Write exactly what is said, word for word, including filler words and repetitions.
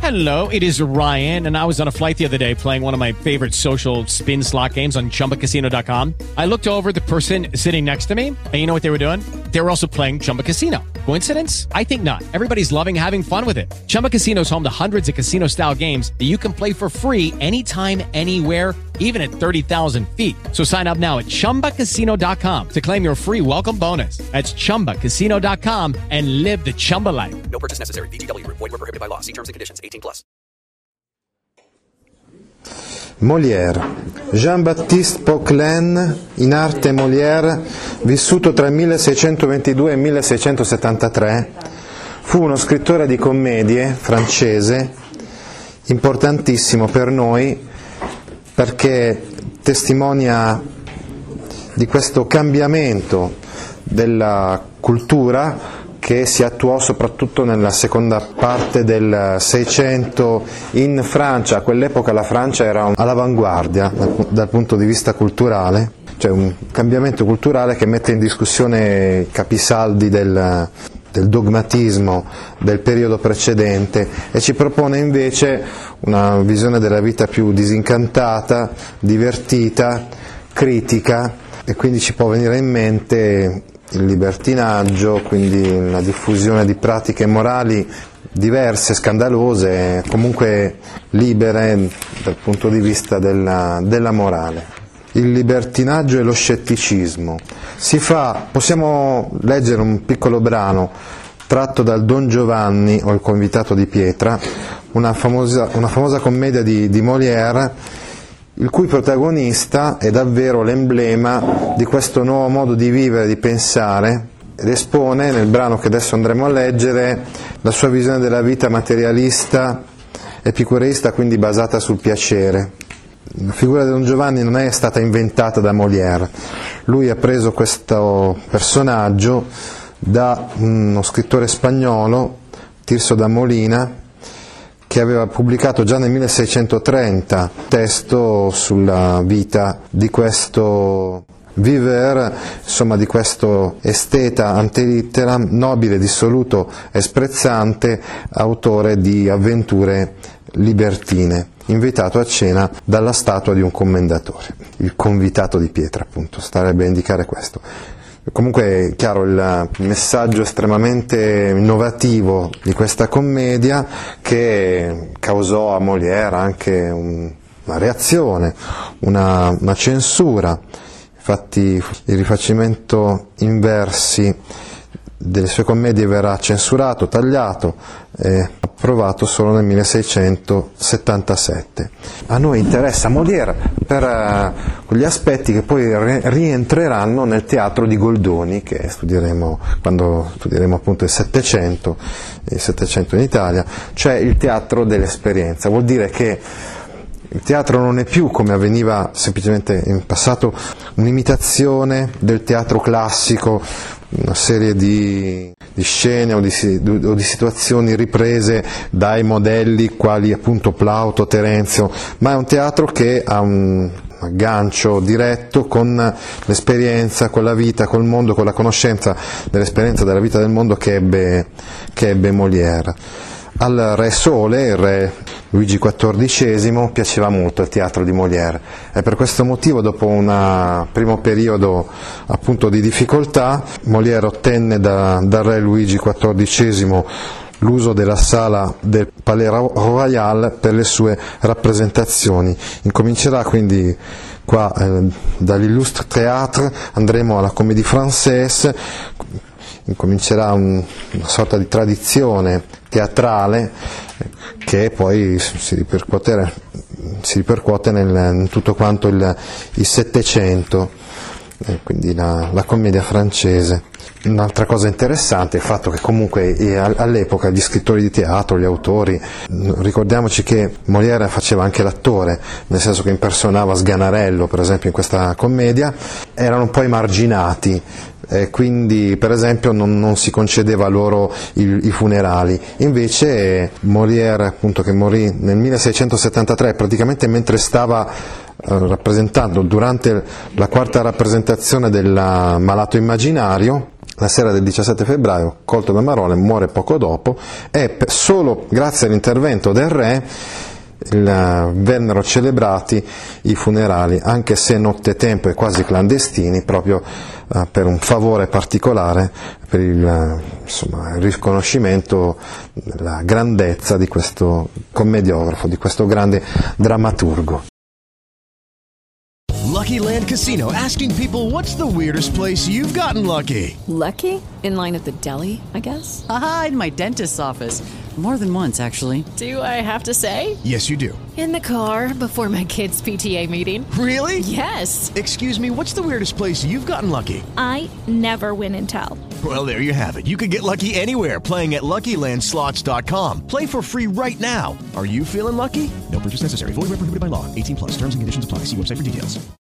Hello, it is Ryan, and I was on a flight the other day playing one of my favorite social spin slot games on Chumba Casino dot com. I looked over at the person sitting next to me, and you know what they were doing? They were also playing Chumba Casino. Coincidence? I think not. Everybody's loving having fun with it. Chumba Casino is home to hundreds of casino-style games that you can play for free anytime, anywhere, even at thirty thousand feet. So sign up now at Chumba Casino dot com to claim your free welcome bonus. That's Chumba Casino dot com and live the Chumba life. No purchase necessary. V G W. Void where prohibited by law. See terms and conditions. eighteen plus. Molière. Jean-Baptiste Poquelin, in arte Molière, vissuto tra il milleseicentoventidue e il milleseicentosettantatré, fu uno scrittore di commedie francese importantissimo per noi perché testimonia di questo cambiamento della cultura che si attuò soprattutto nella seconda parte del Seicento in Francia. A quell'epoca la Francia era all'avanguardia dal, dal punto di vista culturale, cioè un cambiamento culturale che mette in discussione i capisaldi del, del dogmatismo del periodo precedente e ci propone invece una visione della vita più disincantata, divertita, critica, e quindi ci può venire in mente il libertinaggio, quindi la diffusione di pratiche morali diverse, scandalose, comunque libere dal punto di vista della, della morale. Il libertinaggio e lo scetticismo. Si fa, possiamo leggere un piccolo brano tratto dal Don Giovanni o il convitato di pietra, una famosa, una famosa commedia di, di Molière, il cui protagonista è davvero l'emblema di questo nuovo modo di vivere, di pensare, ed espone nel brano che adesso andremo a leggere la sua visione della vita materialista, epicureista, quindi basata sul piacere. La figura di Don Giovanni non è stata inventata da Molière, lui ha preso questo personaggio da uno scrittore spagnolo, Tirso da Molina, che aveva pubblicato già nel milleseicentotrenta un testo sulla vita di questo viveur, insomma di questo esteta ante litteram, nobile, dissoluto e sprezzante, autore di avventure libertine, invitato a cena dalla statua di un commendatore, il convitato di pietra, appunto, starebbe a indicare questo. Comunque è chiaro il messaggio estremamente innovativo di questa commedia, che causò a Molière anche un, una reazione, una, una censura. Infatti il rifacimento in versi delle sue commedie verrà censurato, tagliato e approvato solo nel milleseicentosettantasette. A noi interessa Molière per uh, quegli aspetti che poi re- rientreranno nel teatro di Goldoni, che studieremo quando studieremo appunto il Settecento, il Settecento in Italia, cioè il teatro dell'esperienza. Vuol dire che il teatro non è più, come avveniva semplicemente in passato, un'imitazione del teatro classico, una serie di, di scene o di, o di situazioni riprese dai modelli quali appunto Plauto, Terenzio, ma è un teatro che ha un aggancio diretto con l'esperienza, con la vita, col mondo, con la conoscenza dell'esperienza della vita del mondo che ebbe, che ebbe Molière. Al re Sole, il re Luigi quattordicesimo, piaceva molto il teatro di Molière e per questo motivo, dopo un primo periodo appunto di difficoltà, Molière ottenne da, dal re Luigi quattordicesimo l'uso della sala del Palais Royal per le sue rappresentazioni. Incomincerà quindi qua eh, dall'Illustre Théâtre, andremo alla Comédie Française, incomincerà un, una sorta di tradizione teatrale che poi si ripercuote, si ripercuote nel, in tutto quanto il, il Settecento, eh, quindi la, la commedia francese. Un'altra cosa interessante è il fatto che comunque eh, all'epoca gli scrittori di teatro, gli autori, ricordiamoci che Molière faceva anche l'attore, nel senso che impersonava Sganarello per esempio in questa commedia, erano poi marginati, eh, quindi per esempio non, non si concedeva loro il, i funerali. Invece Molière, appunto, che morì nel milleseicentosettantatré, praticamente mentre stava eh, rappresentando durante la quarta rappresentazione del Malato Immaginario, La sera del diciassette febbraio, colto da Marone, muore poco dopo e solo grazie all'intervento del re il, vennero celebrati i funerali, anche se nottetempo e quasi clandestini, proprio uh, per un favore particolare, per il, uh, insomma, il riconoscimento della grandezza di questo commediografo, di questo grande drammaturgo. Lucky Land Casino, asking people, what's the weirdest place you've gotten lucky? Lucky? In line at the deli, I guess? Aha, in my dentist's office. More than once, actually. Do I have to say? Yes, you do. In the car before my kids' P T A meeting. Really? Yes. Excuse me, what's the weirdest place you've gotten lucky? I never win and tell. Well, there you have it. You can get lucky anywhere, playing at Lucky Land Slots dot com. Play for free right now. Are you feeling lucky? No purchase necessary. Void where prohibited by law. eighteen plus. Terms and conditions apply. See website for details.